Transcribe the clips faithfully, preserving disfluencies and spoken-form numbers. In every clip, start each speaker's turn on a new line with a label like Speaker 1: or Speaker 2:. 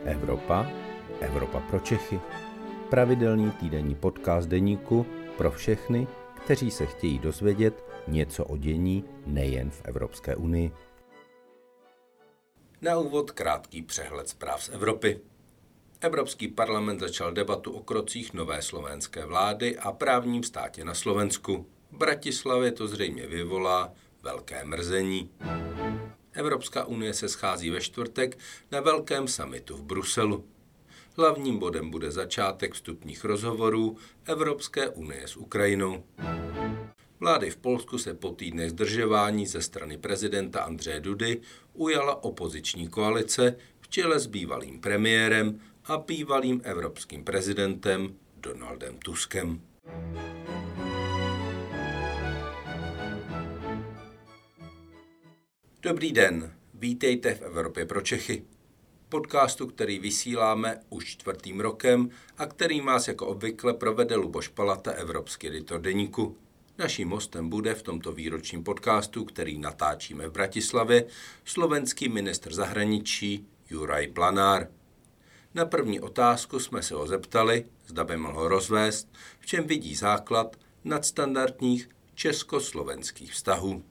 Speaker 1: Evropa, Evropa pro Čechy. Pravidelný týdenní podcast deníku pro všechny, kteří se chtějí dozvědět něco o dění nejen v Evropské unii. Na úvod krátký přehled zpráv z Evropy. Evropský parlament začal debatu o krocích nové slovenské vlády a právním státě na Slovensku. V Bratislavě to zřejmě vyvolá velké mrzení. Evropská unie se schází ve čtvrtek na velkém summitu v Bruselu. Hlavním bodem bude začátek vstupních rozhovorů Evropské unie s Ukrajinou. Vlády v Polsku se po týdnech zdržování ze strany prezidenta Andřeje Dudy ujala opoziční koalice v čele s bývalým premiérem a bývalým evropským prezidentem Donaldem Tuskem. Dobrý den, vítejte v Evropě pro Čechy. Podcastu, který vysíláme už čtvrtým rokem a který vás jako obvykle provede Luboš Palata, evropský editor deníku. Naším hostem bude v tomto výročním podcastu, který natáčíme v Bratislavě, slovenský ministr zahraničí Juraj Blanár. Na první otázku jsme se ho zeptali, zda by mohl rozvést, v čem vidí základ nadstandardních československých vztahů.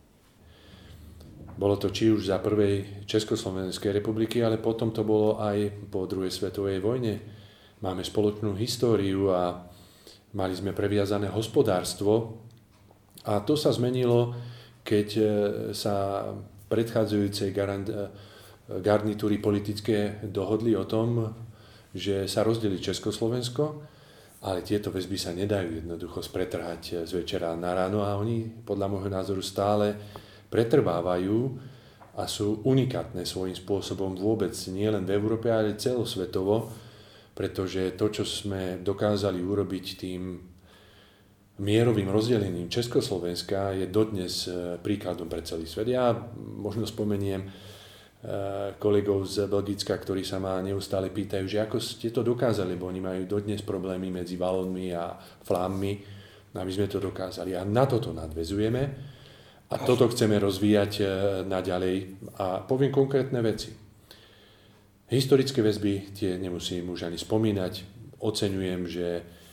Speaker 2: Bolo to či už za prvej Československej republiky, ale potom to bolo aj po druhej svetovej vojne. Máme spoločnú históriu a mali sme previazané hospodárstvo a to sa zmenilo, keď sa predchádzajúcej garnitúry politické dohodli o tom, že sa rozdelí Československo, ale tieto väzby sa nedajú jednoducho spretrhať z večera na ráno a oni podľa môjho názoru stále pretrvávajú a sú unikátne svojím spôsobom vôbec nielen v Európe, ale celosvetovo, pretože to, čo sme dokázali urobiť tým mierovým rozdelením Československa, je dodnes príkladom pre celý svet. Ja možno spomeniem kolegov z Belgicka, ktorí sa ma neustále pýtajú, že ako ste to dokázali, lebo oni majú dodnes problémy medzi Valónmi a Flámmi, aby sme to dokázali. A na toto nadväzujeme. A toto chceme rozvíjať naďalej a poviem konkrétne veci. Historické väzby, tie nemusím už ani spomínať. Oceňujem, že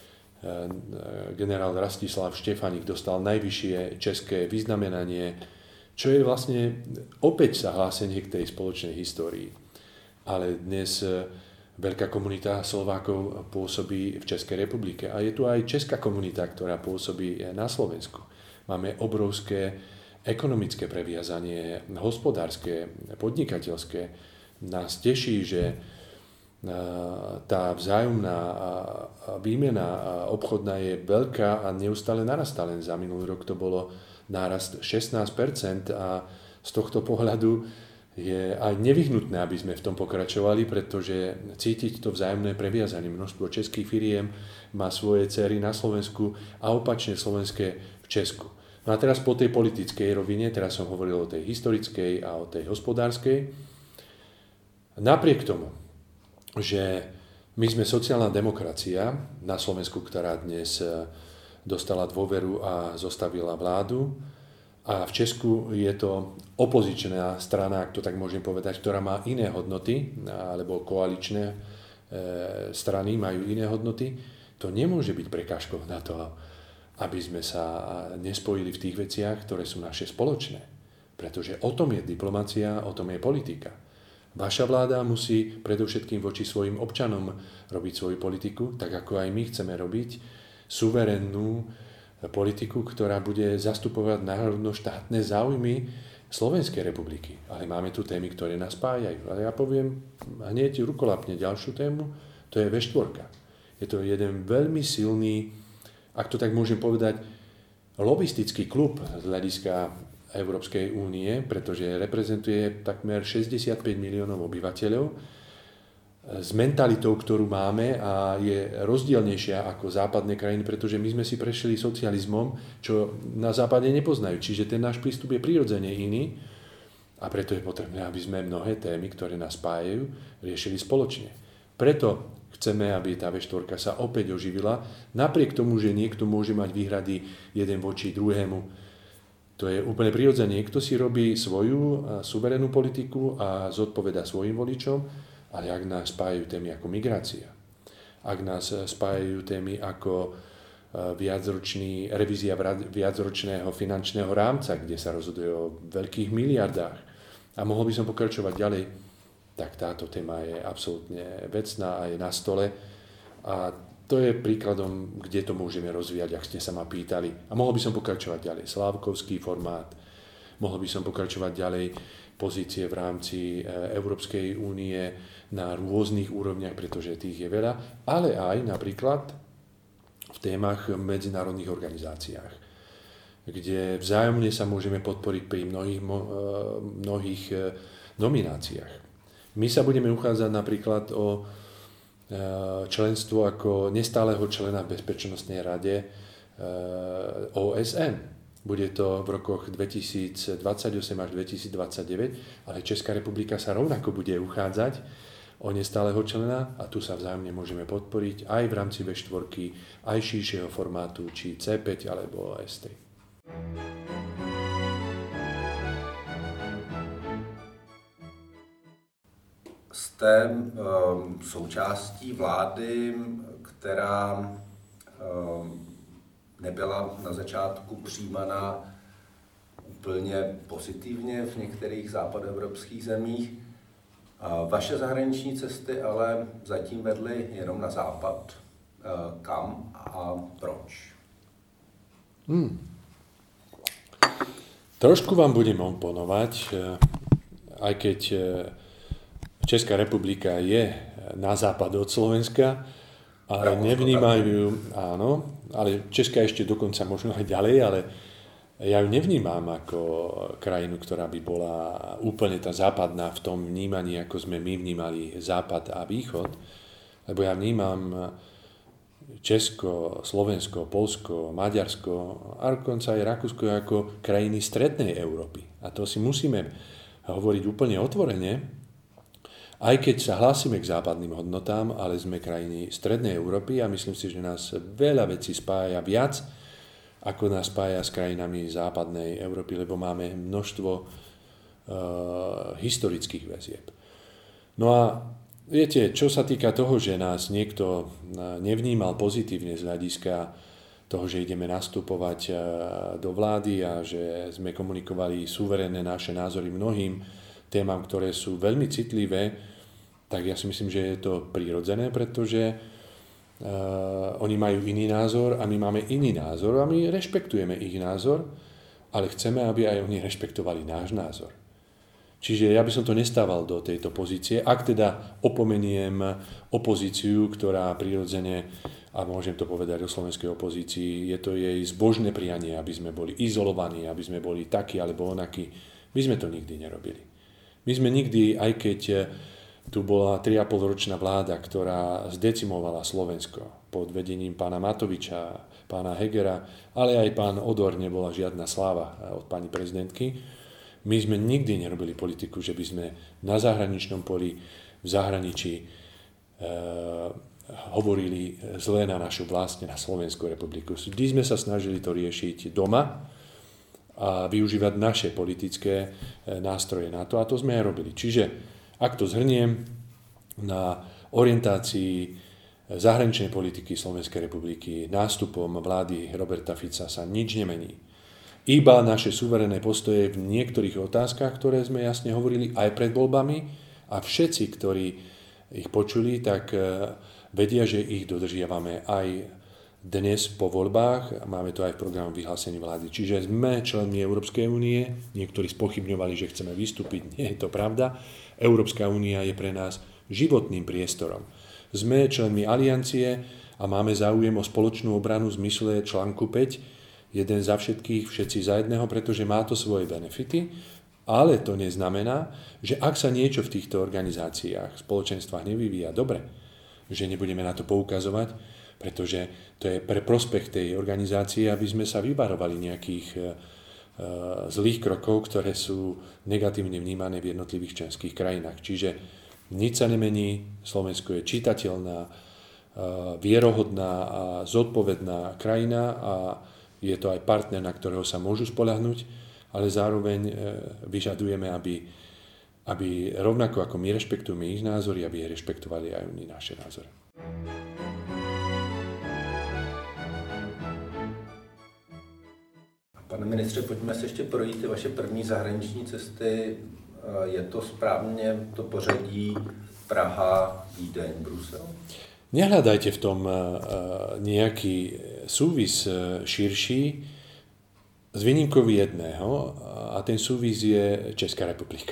Speaker 2: generál Rastislav Štefanik dostal najvyššie české vyznamenanie, čo je vlastne opäť sa hlásenie k tej spoločnej histórii. Ale dnes veľká komunita Slovákov pôsobí v Českej republike a je tu aj česká komunita, ktorá pôsobí na Slovensku. Máme obrovské ekonomické previazanie, hospodárske, podnikateľské. Nás teší, že tá vzájomná výmena obchodná je veľká a neustále narastá. Len za minulý rok to bolo nárast šestnásť percent a z tohto pohľadu je aj nevyhnutné, aby sme v tom pokračovali, pretože cítiť to vzájomné previazanie. Množstvo českých firiem má svoje dcery na Slovensku a opačne slovenské v Česku. No a teraz po tej politickej rovine, teraz som hovoril o tej historickej a o tej hospodárskej. Napriek tomu, že my sme sociálna demokracia na Slovensku, ktorá dnes dostala dôveru a zostavila vládu, a v Česku je to opozičná strana, ak to tak môžem povedať, ktorá má iné hodnoty, alebo koaličné strany majú iné hodnoty, to nemôže byť prekážkou na to, aby sme sa nespojili v tých veciach, ktoré sú naše spoločné. Pretože o tom je diplomacia, o tom je politika. Vaša vláda musí predovšetkým voči svojim občanom robiť svoju politiku, tak ako aj my chceme robiť suverénnu politiku, ktorá bude zastupovať národno-štátne záujmy Slovenskej republiky. Ale máme tu témy, ktoré nás spájajú. Ale ja poviem hneď rukolapne ďalšiu tému, to je vé štyri. Je to jeden veľmi silný, ak to tak môžem povedať, lobistický klub z hľadiska Európskej únie, pretože reprezentuje takmer šesťdesiatpäť miliónov obyvateľov s mentalitou, ktorú máme a je rozdielnejšia ako západné krajiny, pretože my sme si prešli socializmom, čo na západe nepoznajú. Čiže ten náš prístup je prirodzene iný a preto je potrebné, aby sme mnohé témy, ktoré nás spájajú, riešili spoločne. Preto chceme, aby tá vé štyri sa opäť oživila, napriek tomu, že niekto môže mať výhrady jeden voči druhému. To je úplne prirodzené. Niekto si robí svoju suverénnu politiku a zodpoveda svojim voličom Ale ak nás spájajú témy ako migrácia, ak nás spájajú témy ako viacročný, revízia viacročného finančného rámca, kde sa rozhoduje o veľkých miliardách, a mohol by som pokračovať ďalej, tak táto téma je absolútne vecná a je na stole. A to je príkladom, kde to môžeme rozvíjať, ak ste sa ma pýtali. A mohol by som pokračovať ďalej. Slávkovský formát, mohol by som pokračovať ďalej pozície v rámci Európskej únie na rôznych úrovniach, pretože tých je veľa, ale aj napríklad v témach v medzinárodných organizáciách, kde vzájomne sa môžeme podporiť pri mnohých, mnohých nomináciách. My sa budeme uchádzať napríklad o členstvo ako nestáleho člena v Bezpečnostnej rade ó es en. Bude to v rokoch dvetisícdvadsaťosem až dvetisícdvadsaťdeväť, ale Česká republika sa rovnako bude uchádzať o nestáleho člena a tu sa vzájomne môžeme podporiť aj v rámci vé štyri, aj širšieho formátu, či cé päť alebo es tri.
Speaker 1: Jste um, součástí vlády, která um, nebyla na začátku přijímaná úplně pozitivně v některých západoevropských zemích. Vaše zahraniční cesty ale zatím vedly jenom na západ. Kam a proč?
Speaker 2: Hmm. Trošku vám budem oponovať, aj keď Česká republika je na západ od Slovenska, ale nevnímajú, áno, ale Česká ešte dokonca možno aj ďalej, ale ja ju nevnímam ako krajinu, ktorá by bola úplne tá západná v tom vnímaní, ako sme my vnímali západ a východ, lebo ja vnímam Česko, Slovensko, Poľsko, Maďarsko a dokonca aj Rakúsko ako krajiny strednej Európy. A to si musíme hovoriť úplne otvorene, aj keď sa hlásime k západným hodnotám, ale sme krajiny strednej Európy a myslím si, že nás veľa vecí spája viac, ako nás spája s krajinami západnej Európy, lebo máme množstvo uh, historických väzieb. No a viete, čo sa týka toho, že nás niekto nevnímal pozitívne z hľadiska toho, že ideme nastupovať uh, do vlády a že sme komunikovali suverénne naše názory mnohým témam, ktoré sú veľmi citlivé, tak ja si myslím, že je to prirodzené, pretože Uh, oni majú iný názor a my máme iný názor a my rešpektujeme ich názor, ale chceme, aby aj oni rešpektovali náš názor. Čiže ja by som to nestával do tejto pozície, ak teda opomeniem opozíciu, ktorá prirodzene, a môžem to povedať o slovenskej opozícii, je to jej zbožné prianie, aby sme boli izolovaní, aby sme boli takí alebo onakí. My sme to nikdy nerobili. My sme nikdy, aj keď tu bola tri a pol ročná vláda, ktorá zdecimovala Slovensko pod vedením pána Matoviča, pána Hegera, ale aj pán Odor, nebola žiadna sláva od pani prezidentky. My sme nikdy nerobili politiku, že by sme na zahraničnom poli, v zahraničí e, hovorili zlé na našu vlastne, na Slovenskú republiku. Vždy sme sa snažili to riešiť doma a využívať naše politické nástroje na to, a to sme aj robili. Čiže ak to zhrniem, na orientácii zahraničnej politiky Slovenskej republiky nástupom vlády Roberta Fica sa nič nemení. Iba naše suverénne postoje v niektorých otázkach, ktoré sme jasne hovorili aj pred voľbami, a všetci, ktorí ich počuli, tak vedia, že ich dodržiavame aj dnes po voľbách. Máme to aj v programu vyhlásení vlády. Čiže sme členmi Európskej únie. Niektorí spochybňovali, že chceme vystúpiť. Nie je to pravda. Európska únia je pre nás životným priestorom. Sme členmi aliancie a máme záujem o spoločnú obranu v zmysle článku päť, jeden za všetkých, všetci za jedného, pretože má to svoje benefity, ale to neznamená, že ak sa niečo v týchto organizáciách, spoločenstvách nevyvíja dobre, že nebudeme na to poukazovať, pretože to je pre prospech tej organizácie, aby sme sa vyvarovali nejakých zlých krokov, ktoré sú negatívne vnímané v jednotlivých členských krajinách. Čiže nič sa nemení, Slovensko je čitateľná, vierohodná a zodpovedná krajina a je to aj partner, na ktorého sa môžu spoľahnúť, ale zároveň vyžadujeme, aby aby rovnako ako my rešpektujeme ich názory, aby rešpektovali aj oni naše názory.
Speaker 1: Pane ministře, pojďme se ještě projít ty vaše první zahraniční cesty. Je to správně to pořadí Praha, Vídeň, Brusel?
Speaker 2: Nehľadajte v tom nejaký súvis širší z výnimkou jedného a ten súvis je Česká republika.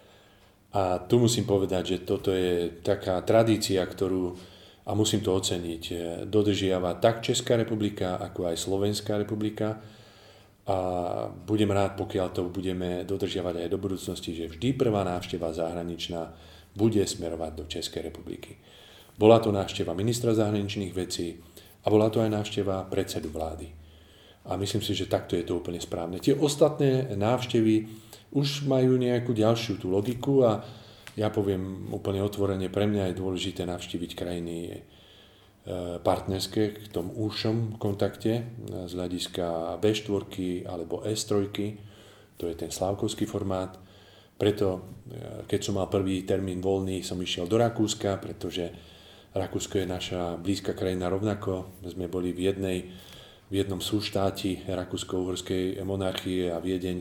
Speaker 2: A tu musím povedať, že toto je taká tradícia, ktorú, a musím to oceniť, dodržiava tak Česká republika, ako aj Slovenská republika. A budem rád, pokiaľ to budeme dodržiavať aj do budúcnosti, že vždy prvá návšteva zahraničná bude smerovať do Českej republiky. Bola to návšteva ministra zahraničných vecí a bola to aj návšteva predsedu vlády. A myslím si, že takto je to úplne správne. Tie ostatné návštevy už majú nejakú ďalšiu tú logiku a ja poviem úplne otvorene, pre mňa je dôležité navštíviť krajiny partnerské k tom úšom kontakte z hľadiska bé štyri alebo es tri, to je ten slávkovský formát. Preto, keď som mal prvý termín voľný, som išiel do Rakúska, pretože Rakúsko je naša blízka krajina rovnako. Sme boli v, jednej, v jednom súštáti Rakúsko-uhorskej monarchie a Viedeň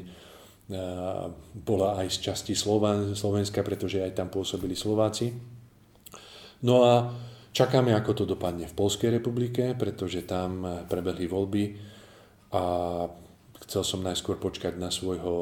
Speaker 2: bola aj z časti Slovenska, pretože aj tam pôsobili Slováci. No a čakáme, ako to dopadne v Poľskej republike, pretože tam prebehli voľby a chcel som najskôr počkať na svojho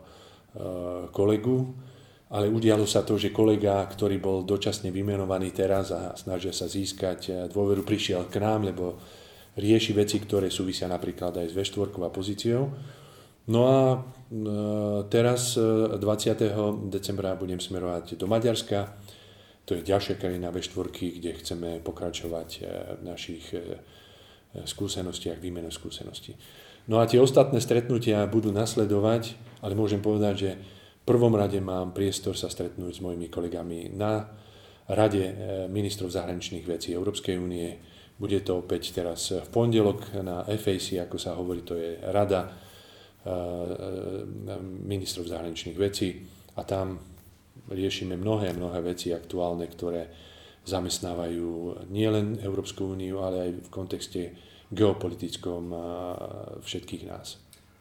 Speaker 2: kolegu, ale udialo sa to, že kolega, ktorý bol dočasne vymenovaný teraz a snažia sa získať dôveru, prišiel k nám, lebo rieši veci, ktoré súvisia napríklad aj s vé štyri a pozíciou. No a teraz dvadsiateho decembra budem smerovať do Maďarska. To je ďalšia krajina vé štyri, kde chceme pokračovať v našich skúsenostiach, výmenu skúseností. No a tie ostatné stretnutia budú nasledovať, ale môžem povedať, že v prvom rade mám priestor sa stretnúť s mojimi kolegami na Rade ministrov zahraničných vecí Európskej únie. Bude to opäť teraz v pondelok na ef á cé, ako sa hovorí, to je Rada ministrov zahraničných vecí a tam riešime mnohé, mnohé veci aktuálne, ktoré zamestnávajú nielen Európsku úniu, ale aj v kontexte geopolitickom všetkých nás.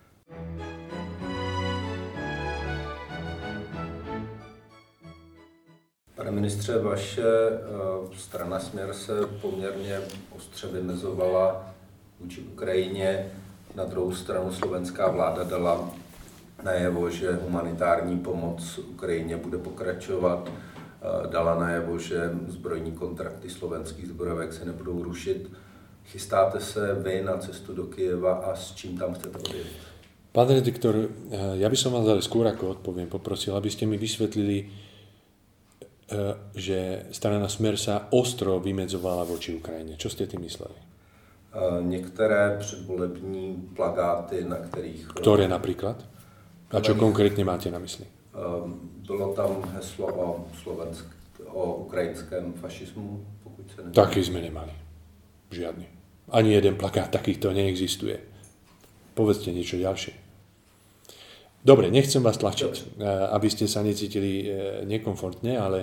Speaker 1: Pane ministře, vaše strana Směr se poměrně ostře vymezovala vůči Ukrajině. Na druhou stranu slovenská vláda dala najevo, že humanitární pomoc Ukrajině bude pokračovat. Dala najevo, že zbrojní kontrakty slovenských zbrojovek se nebudou rušit. Chystáte se vy na cestu do Kyjeva a s čím tam chcete odjít?
Speaker 2: Pán redaktor, ja by som vás ale skôr ako odpoviem poprosil, aby ste mi vysvetlili, že strana Smer sa ostro vymedzovala voči Ukrajine. Čo ste tým mysleli?
Speaker 1: Některé předvolební plagáty, na kterých...
Speaker 2: Ktoré napríklad? A čo konkrétne máte na mysli?
Speaker 1: Bylo tam heslo o, slovensk, o ukrajinském fašismu, pokud se nevím.
Speaker 2: Taký sme nemali. Žiadny. Ani jeden plakát takýchto neexistuje. Povedzte niečo ďalšie. Dobre, nechcem vás tlačiť, aby ste sa necítili nekomfortne, ale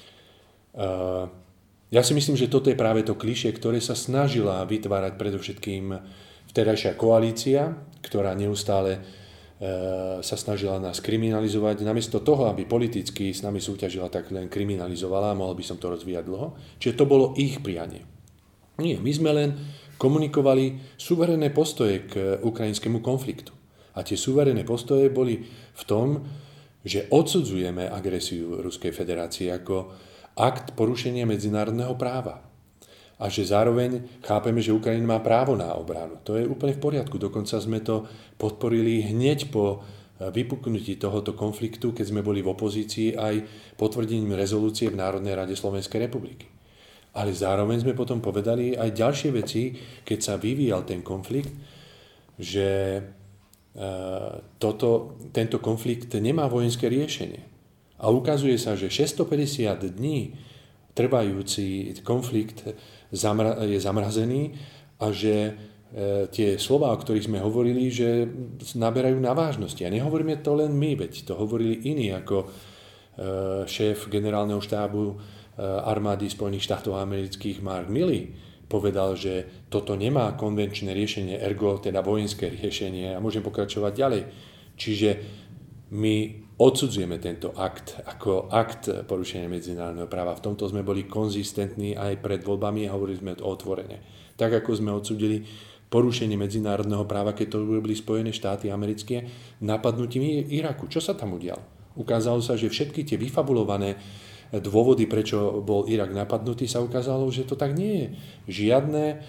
Speaker 2: ja si myslím, že toto je práve to klišé, ktoré sa snažila vytvárať predovšetkým vtedajšia koalícia, ktorá neustále sa snažila nás kriminalizovať. Namiesto toho, aby politicky s nami súťažila, tak len kriminalizovala, mohol by som to rozvíjať dlho. Čiže to bolo ich prianie. Nie, my sme len komunikovali suverénne postoje k ukrajinskému konfliktu. A tie suverénne postoje boli v tom, že odsudzujeme agresiu Ruskej federácie ako akt porušenia medzinárodného práva. A že zároveň chápeme, že Ukrajina má právo na obranu. To je úplne v poriadku. Dokonca sme to podporili hneď po vypuknutí tohoto konfliktu, keď sme boli v opozícii aj potvrdením rezolúcie v Národnej rade Slovenskej republiky. Ale zároveň sme potom povedali aj ďalšie veci, keď sa vyvíjal ten konflikt, že Toto, tento konflikt nemá vojenské riešenie. A ukazuje sa, že šesťstopäťdesiat dní trvajúci konflikt je zamrazený a že tie slová, o ktorých sme hovorili, že naberajú na vážnosti. A nehovoríme to len my, veď to hovorili iní, ako šéf generálneho štábu armády Spojených štátov amerických Mark Milley povedal, že toto nemá konvenčné riešenie, ergo teda vojenské riešenie a môžem pokračovať ďalej. Čiže my odsudzujeme tento akt ako akt porušenia medzinárodného práva. V tomto sme boli konzistentní aj pred voľbami a hovorili sme to otvorene. Tak ako sme odsudili porušenie medzinárodného práva, keď to urobili Spojené štáty americké napadnutím Iraku. Čo sa tam udialo? Ukázalo sa, že všetky tie vyfabulované dôvody, prečo bol Irak napadnutý, sa ukázalo, že to tak nie je. Žiadne e,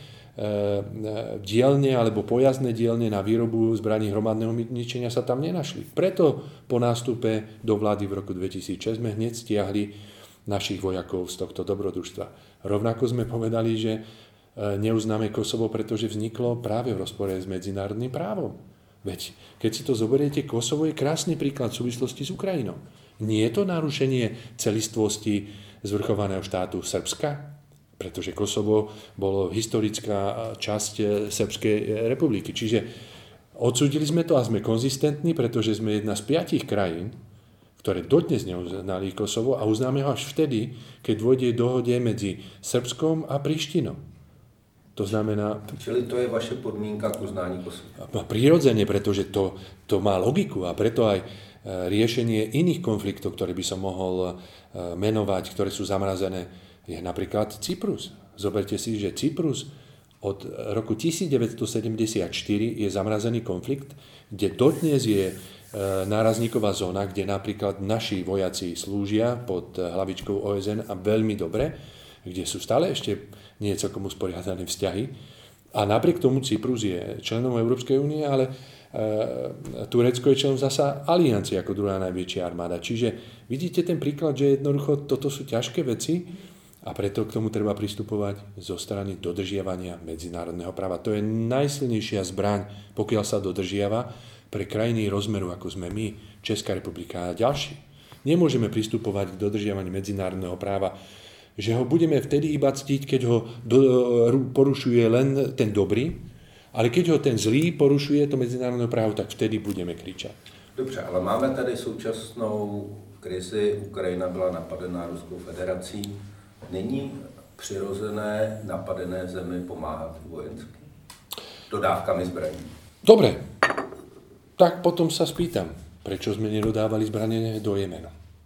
Speaker 2: dielne alebo pojazdné dielne na výrobu zbraní hromadného ničenia sa tam nenašli. Preto po nástupe do vlády v roku dvetisícšesť sme hneď stiahli našich vojakov z tohto dobrodružstva. Rovnako sme povedali, že neuznáme Kosovo, pretože vzniklo práve v rozpore s medzinárodným právom. Veď keď si to zoberiete, Kosovo je krásny príklad v súvislosti s Ukrajinou. Nie je to narušenie celistvosti zvrchovaného štátu Srbska, pretože Kosovo bolo historická časť Srbskej republiky. Čiže odsúdili sme to a sme konzistentní, pretože sme jedna z piatich krajín, ktoré dodnes neuznali Kosovo a uznáme ho až vtedy, keď dôjde dohode medzi Srbskom a Prištinou. To znamená...
Speaker 1: Čili to je vaše podmienka k uznání Kosova?
Speaker 2: Prirodzene, pretože to, to má logiku a preto aj riešenie iných konfliktov, ktoré by som mohol menovať, ktoré sú zamrazené, je napríklad Cyprus. Zoberte si, že Cyprus od roku devätnásťstosedemdesiatštyri je zamrazený konflikt, kde dodnes je nárazníková zóna, kde napríklad naši vojaci slúžia pod hlavičkou ó es en a veľmi dobre, kde sú stále ešte nie celkom usporiadané vzťahy. A napriek tomu Cyprus je členom Európskej únie, ale e, Turecko je členom zasa aliancie ako druhá najväčšia armáda. Čiže vidíte ten príklad, že jednoducho toto sú ťažké veci a preto k tomu treba pristupovať zo strany dodržiavania medzinárodného práva. To je najsilnejšia zbraň, pokiaľ sa dodržiava pre krajiny rozmeru, ako sme my, Česká republika a ďalší. Nemôžeme pristupovať k dodržiavaniu medzinárodného práva, že ho budeme vtedy iba ctiť, keď ho do, porušuje len ten dobrý, ale keď ho ten zlý porušuje to medzinárodné právo, tak vtedy budeme kričať.
Speaker 1: Dobře, ale máme tady současnou krizi, Ukrajina byla napadená Ruskou federací. Není přirozené napadené zemi pomáhat vojensky? Dodávkami zbraní.
Speaker 2: Dobre, tak potom sa spýtam, prečo sme nedodávali zbranie do Jemenu?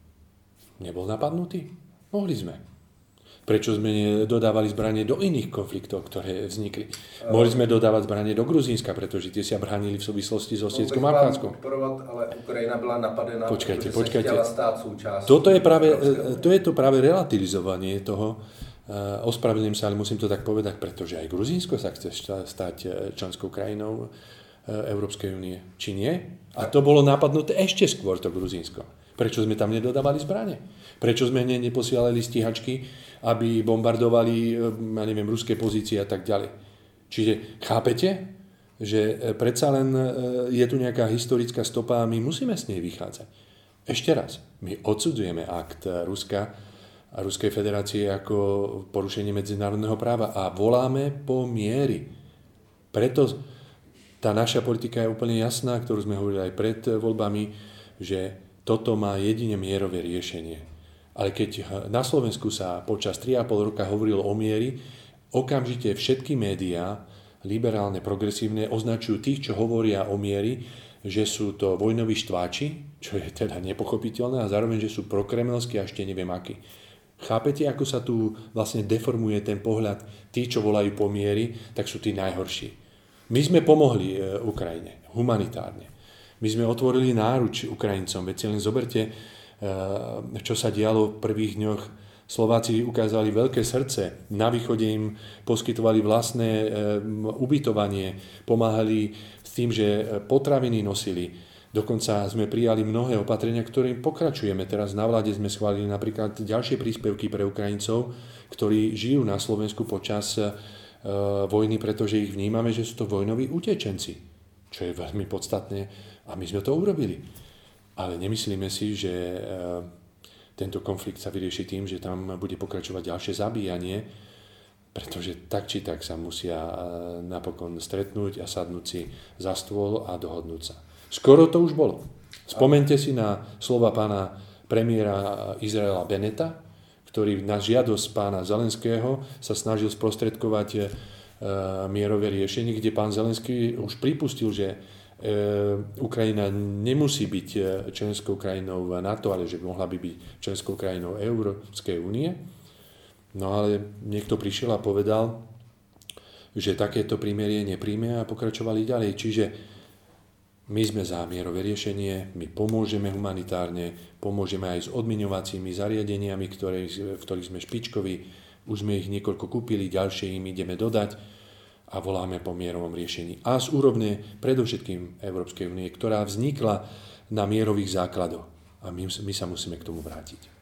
Speaker 2: Nebol napadnutý? Mohli sme. Prečo sme dodávali zbranie do iných konfliktov, ktoré vznikli? Mohli sme dodávať zbranie do Gruzínska, pretože tie sa bránili v súvislosti s Osetskom a Abcházskom.
Speaker 1: Ale Ukrajina bola napadená,
Speaker 2: počkajte,
Speaker 1: pretože
Speaker 2: počkajte.
Speaker 1: sa chcela stáť súčasťou.
Speaker 2: Toto je práve, to je to práve relativizovanie toho. Ospravedlňujem sa, ale musím to tak povedať, pretože aj Gruzínsko sa chce stať členskou krajinou Európskej únie. Či nie? A to bolo napadnuté ešte skôr, to Gruzínsko. Prečo sme tam nedodávali zbrane? Prečo sme neposielali stíhačky, aby bombardovali, ja neviem, ruské pozície a tak ďalej? Čiže chápete, že predsa len je tu nejaká historická stopa a my musíme s nej vychádzať. Ešte raz, my odsudzujeme akt Ruska a Ruskej federácie ako porušenie medzinárodného práva a voláme po miery. Preto tá naša politika je úplne jasná, ktorú sme hovorili aj pred voľbami, že toto má jedine mierové riešenie. Ale keď na Slovensku sa počas tri a pol roka hovorilo o miery, okamžite všetky médiá, liberálne, progresívne, označujú tých, čo hovoria o miery, že sú to vojnoví štváči, čo je teda nepochopiteľné, a zároveň, že sú prokremelskí a ešte neviem akí. Chápete, ako sa tu vlastne deformuje ten pohľad? Tí, čo volajú po miery, tak sú tí najhorší. My sme pomohli Ukrajine humanitárne. My sme otvorili náruč Ukrajincom, veď si len zoberte, čo sa dialo v prvých dňoch. Slováci ukázali veľké srdce, na východe im poskytovali vlastné ubytovanie, pomáhali s tým, že potraviny nosili. Dokonca sme prijali mnohé opatrenia, ktorým pokračujeme. Teraz na vláde sme schválili napríklad ďalšie príspevky pre Ukrajincov, ktorí žijú na Slovensku počas vojny, pretože ich vnímame, že sú to vojnoví utečenci, čo je veľmi podstatné. A my sme to urobili. Ale nemyslíme si, že tento konflikt sa vyrieši tým, že tam bude pokračovať ďalšie zabíjanie, pretože tak či tak sa musia napokon stretnúť a sadnúť si za stôl a dohodnúť sa. Skoro to už bolo. Spomente si na slova pána premiéra Izraela Beneta, ktorý na žiadosť pána Zelenského sa snažil sprostredkovať e, mierové riešenie, kde pán Zelenský už pripustil, že e, Ukrajina nemusí byť členskou krajinou NATO, ale že mohla by byť členskou krajinou Európskej únie. No ale niekto prišiel a povedal, že takéto prímerie nepríjme a pokračovali ďalej. Čiže my sme za mierové riešenie, my pomôžeme humanitárne, pomôžeme aj s odmiňovacími zariadeniami, ktoré, v ktorých sme špičkoví, už sme ich niekoľko kúpili, ďalšie im ideme dodať a voláme po mierovom riešení. A z úrovne predovšetkým Európskej únie, ktorá vznikla na mierových základoch. A my, my sa musíme k tomu vrátiť.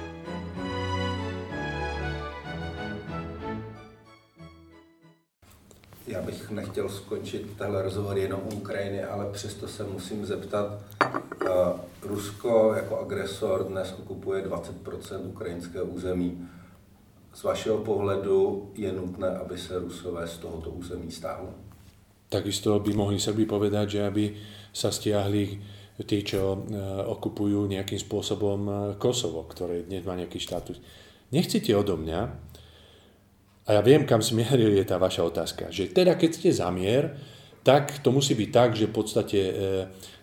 Speaker 1: Já bych nechtěl skončit tenhle rozhovor jenom u Ukrajiny, ale přesto se musím zeptat. Rusko jako agresor dnes okupuje dvacet procent ukrajinského území. Z vašeho pohledu je nutné, aby se Rusové z tohoto území stáhli?
Speaker 2: Takisto by mohli Srbi povedať, že aby sa stiahli tí, čo okupujú nejakým spôsobom Kosovo, ktoré dnes má nejaký štátus. Nechcete odo mňa, a ja viem, kam smeruje tá vaša otázka, že teda keď ste za mier, tak to musí byť tak, že v podstate e, e,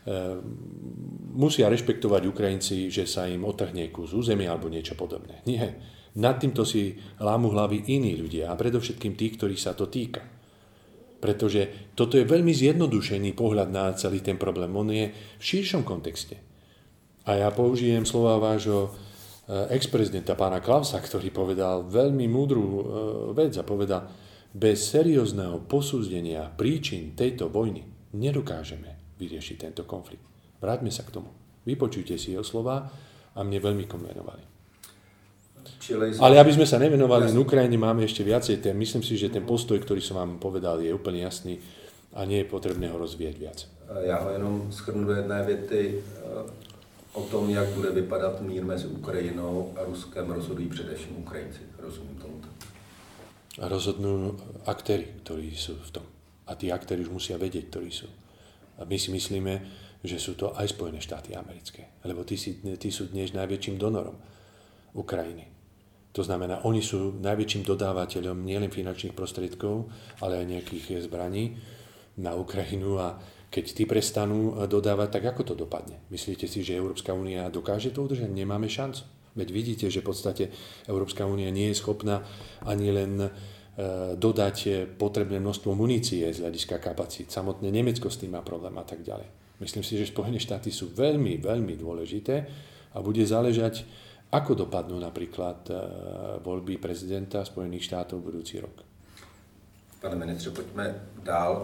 Speaker 2: musia rešpektovať Ukrajinci, že sa im otrhne kus územia alebo niečo podobné. Nie. Nad týmto si lámu hlavy iní ľudia a predovšetkým tí, ktorých sa to týka. Pretože toto je veľmi zjednodušený pohľad na celý ten problém. On je v širšom kontexte. A ja použijem slova vášho ex-prezidenta pána Klausa, ktorý povedal veľmi múdru vec a povedal, bez seriózneho posúdenia príčin tejto vojny nedokážeme vyriešiť tento konflikt. Vráťme sa k tomu. Vypočujte si jeho slova a mne veľmi konvenovali. Ale aby sme sa nevenovali na Ukrajine, máme ešte viacej tém. Myslím si, že ten postoj, ktorý som vám povedal, je úplne jasný a nie je potrebné ho rozvíjať viac.
Speaker 1: Já ho jenom shrnu do jedné věty. O tom, jak bude vypadat mír mezi Ukrajinou a Ruskem, rozhodují především Ukrajinci. Rozumím tomu tak.
Speaker 2: A rozhodnú aktéri, ktorí sú v tom. A tí aktéri už musia vedieť, ktorí sú. A my si myslíme, že sú to aj Spojené štáty americké. Lebo tí, si, tí sú dnes najväčším donorom Ukrajiny. To znamená, oni sú najväčším dodávateľom nielen finančných prostriedkov, ale aj nejakých zbraní na Ukrajinu a keď tí prestanú dodávať, tak ako to dopadne? Myslíte si, že Európska únia dokáže to udržať? Nemáme šancu. Veď vidíte, že v podstate Európska únia nie je schopná ani len dodať potrebné množstvo munície z hľadiska kapacít. Samotné Nemecko s tým má problém a tak ďalej. Myslím si, že Spojené štáty sú veľmi, veľmi dôležité a bude záležať, ako dopadnú napríklad voľby prezidenta Spojených štátov budúci rok.
Speaker 1: Pane ministře, pojďme dál.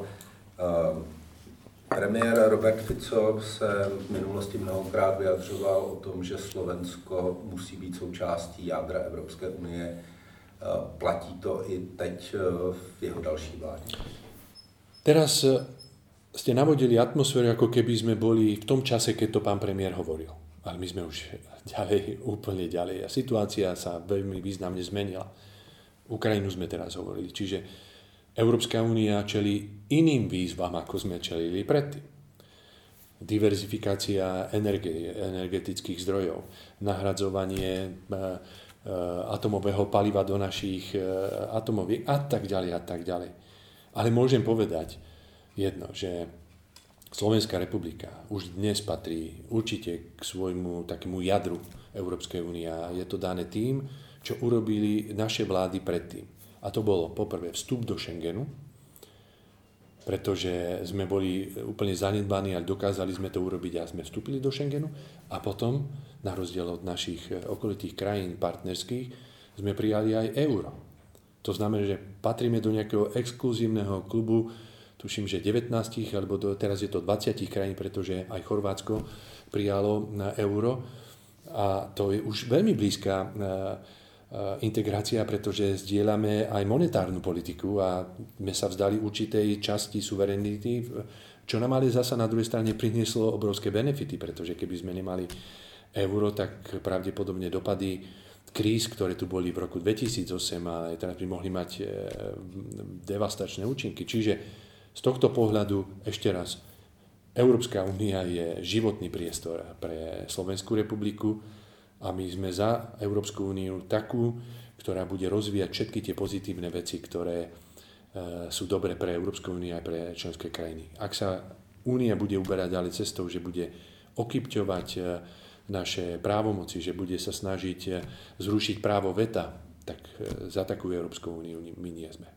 Speaker 1: Premiér Robert Fico se v minulosti mnohokrát vyjadřoval o tom, že Slovensko musí být součástí jádra Evropské unie. Platí to i teď v jeho další vládě?
Speaker 2: Teraz ste navodili atmosféru, ako keby sme boli v tom čase, keď to pán premiér hovoril. Ale my sme už ďalej, úplne ďalej. A situácia sa veľmi významne zmenila. Ukrajinu sme teraz hovorili. Čiže Európska únia čelí iným výzvam, ako sme čelili predtým. Diverzifikácia energie, energetických zdrojov, nahradzovanie atomového paliva do našich atomoviek a tak ďalej a tak ďalej. Ale môžem povedať jedno, že Slovenská republika už dnes patrí určite k svojmu takému jadru Európskej únie a je to dané tým, čo urobili naše vlády predtým. A to bolo poprvé vstup do Schengenu, pretože sme boli úplne zanedbaní, ale dokázali sme to urobiť a sme vstúpili do Schengenu. A potom, na rozdiel od našich okolitých krajín partnerských, sme prijali aj euro. To znamená, že patríme do nejakého exkluzívneho klubu, tuším, že devätnásť, alebo do, teraz je to dvadsať krajín, pretože aj Chorvátsko prijalo na euro. A to je už veľmi blízka integrácia, pretože zdieľame aj monetárnu politiku a sme sa vzdali určitej časti suverenity, čo nám ale zasa na druhej strane prinieslo obrovské benefity, pretože keby sme nemali euro, tak pravdepodobne dopady kríz, ktoré tu boli v roku dvetisícosem, ale teraz by mohli mať devastačné účinky. Čiže z tohto pohľadu ešte raz, Európska únia je životný priestor pre Slovenskú republiku A my sme za Európsku úniu takú, ktorá bude rozvíjať všetky tie pozitívne veci, ktoré sú dobré pre Európsku úniu a pre členské krajiny. Ak sa únia bude uberať ďalej cestou, že bude okypťovať naše právomoci, že bude sa snažiť zrušiť právo veta, tak za takú Európsku úniu my nie sme.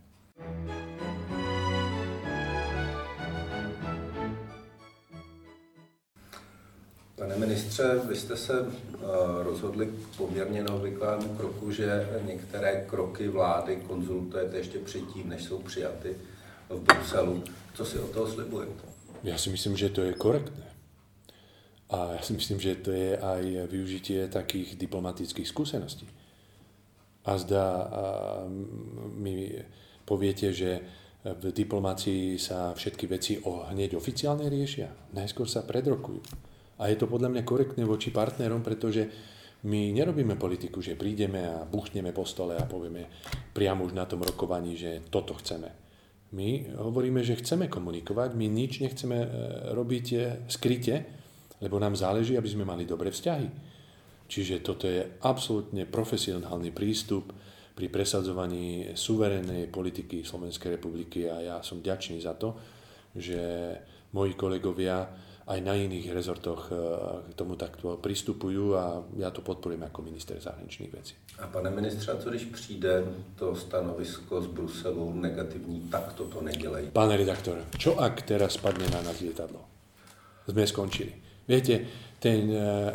Speaker 1: Pane ministře, vy jste se rozhodli k poměrně neobvyklému kroku, že některé kroky vlády konzultujete ještě předtím, než jsou přijaty v Bruselu. Co si od toho slibujete?
Speaker 2: Ja si myslím, že to je korektné. A ja si myslím, že to je aj využitie takých diplomatických skúseností. A zdá, a mi poviete, že v diplomácii sa všetky veci o, hneď oficiálne riešia. Najskôr sa predrokujú. A je to podľa mňa korektné voči partnerom, pretože my nerobíme politiku, že prídeme a buchneme po stole a povieme priamo už na tom rokovaní, že toto chceme. My hovoríme, že chceme komunikovať, my nič nechceme robiť skryte, lebo nám záleží, aby sme mali dobré vzťahy. Čiže toto je absolútne profesionálny prístup pri presadzovaní suverénnej politiky Slovenskej republiky a ja som vďačný za to, že moji kolegovia aj na iných rezortoch k tomu takto pristupujú a ja to podporujem ako minister zahraničných vecí.
Speaker 1: A pane ministře, co když přijde to stanovisko z Bruselu negativní, tak toto nedělej?
Speaker 2: Pán redaktor, čo ak teraz spadne na nás lietadlo? Sme skončili. Viete, ten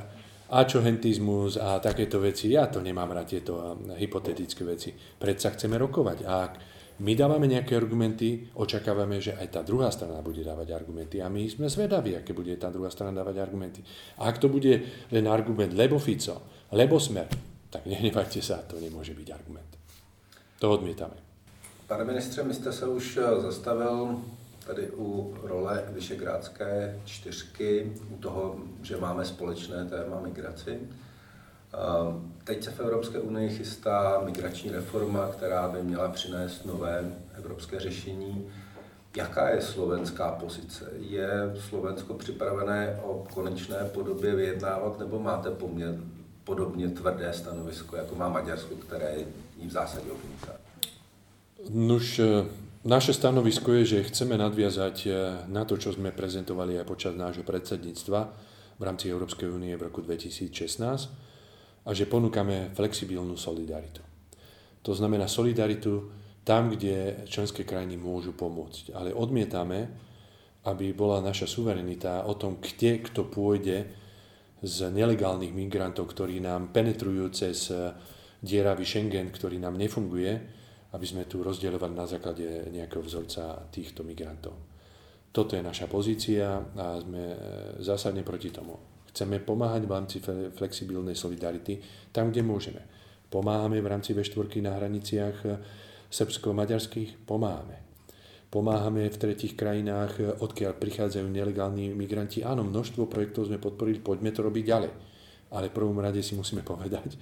Speaker 2: ačohentizmus a takéto veci, ja to nemám rád, tieto hypotetické veci. Predsa chceme rokovať a ak my dávame nejaké argumenty, očakávame, že aj tá druhá strana bude dávať argumenty a my sme zvedaví, aké bude tá druhá strana dávať argumenty. A ak to bude len argument lebo Fico, lebo Smer, tak nehnevajte sa, to nemôže byť argument. To odmietame.
Speaker 1: Pane ministře, my jste se už zastavil tady u role Visegrádské čtyřky, u toho, že máme společné téma migraci. Teď se v Evropské unii chystá migrační reforma, která by měla přinést nové evropské řešení. Jaká je slovenská pozice? Je Slovensko připravené o konečné podobě vyjednávat, nebo máte poměr, podobně tvrdé stanovisko, jako má Maďarsko, které ji v zásadě odmítá?
Speaker 2: Nuž, naše stanovisko je, že chceme nadviazať na to, čo sme prezentovali aj počas nášho predsedníctva v rámci Európskej únie v roku dvetisícšestnásť, a že ponúkame flexibilnú solidaritu. To znamená solidaritu tam, kde členské krajiny môžu pomôcť. Ale odmietame, aby bola naša suverenita o tom, kde kto pôjde z nelegálnych migrantov, ktorí nám penetrujú cez dieravý Schengen, ktorý nám nefunguje, aby sme tu rozdeľovali na základe nejakého vzorca týchto migrantov. Toto je naša pozícia a sme zásadne proti tomu. Chceme pomáhať v rámci flexibilnej solidarity tam, kde môžeme. Pomáhame v rámci vé štyri na hraniciach srbsko-maďarských? Pomáhame. Pomáhame v tretích krajinách, odkiaľ prichádzajú nelegálni migranti. Áno, množstvo projektov sme podporili, poďme to robiť ďalej. Ale v prvom rade si musíme povedať,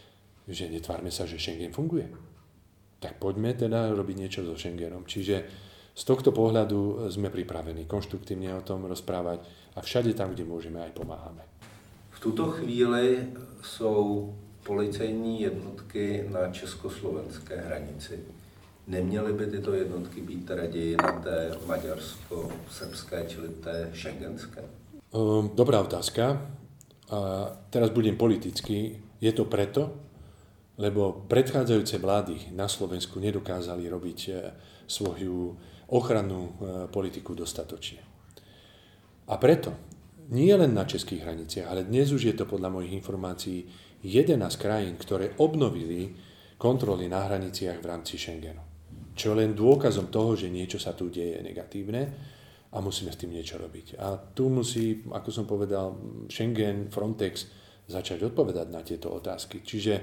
Speaker 2: že netvárme sa, že Schengen funguje. Tak poďme teda robiť niečo so Schengenom. Čiže z tohto pohľadu sme pripravení konštruktívne o tom rozprávať a všade tam, kde môžeme, aj pomáhame.
Speaker 1: V tuto chvíli jsou policejní jednotky na československé hranici. Neměly by tyto jednotky být raději na té maďarsko-srbské, čili té šengenské?
Speaker 2: Dobrá otázka. A teraz budem politický. Je to preto, lebo predchádzajúce vlády na Slovensku nedokázali robiť svoju ochrannú politiku dostatočne. A preto, nie len na českých hraniciach, ale dnes už je to podľa mojich informácií jedenásť krajín, ktoré obnovili kontroly na hraniciach v rámci Schengenu. Čo len dôkazom toho, že niečo sa tu deje negatívne a musíme s tým niečo robiť. A tu musí, ako som povedal, Schengen, Frontex začať odpovedať na tieto otázky. Čiže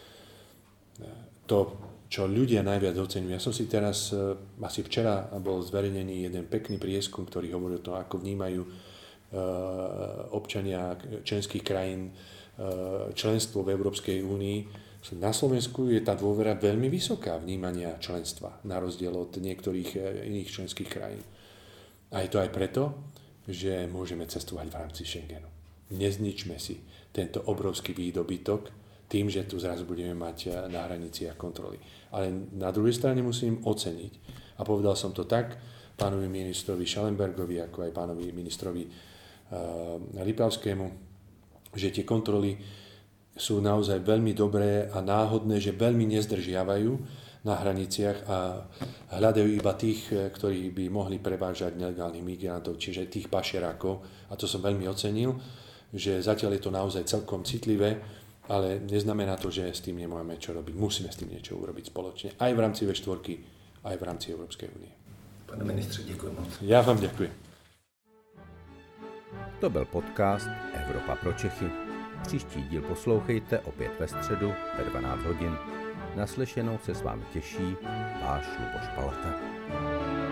Speaker 2: to, čo ľudia najviac oceňujú. Ja som si teraz, asi včera bol zverejnený jeden pekný prieskum, ktorý hovorí o tom, ako vnímajú občania členských krajín členstvo v Európskej únii. Na Slovensku je tá dôvera veľmi vysoká vnímania členstva, na rozdiel od niektorých iných členských krajín. A je to aj preto, že môžeme cestovať v rámci Schengenu. nezničme si tento obrovský výdobytok tým, že tu zrazu budeme mať na hraniciach kontroly. Ale na druhej strane musím oceniť, a povedal som to tak pánovi ministrovi Schallenbergovi, ako aj pánovi ministrovi uh, Lipavskému, že tie kontroly sú naozaj veľmi dobré a náhodné, že veľmi nezdržiavajú na hraniciach a hľadajú iba tých, ktorí by mohli prevážať nelegálnych migrantov, čiže tých pašerákov. A to som veľmi ocenil, že zatiaľ je to naozaj celkom citlivé, ale neznamená to, že s tým nemáme čo robiť. Musíme s tým niečo urobiť spoločne, aj v rámci vé štyri, aj v rámci Európskej únie.
Speaker 1: Pane ministře, děkuji moc.
Speaker 2: Já vám děkuji.
Speaker 3: To byl podcast Evropa pro Čechy. Příští díl poslouchejte opět ve středu ve dvanáct hodin. Naslyšenou se s vámi těší váš Luboš Palata.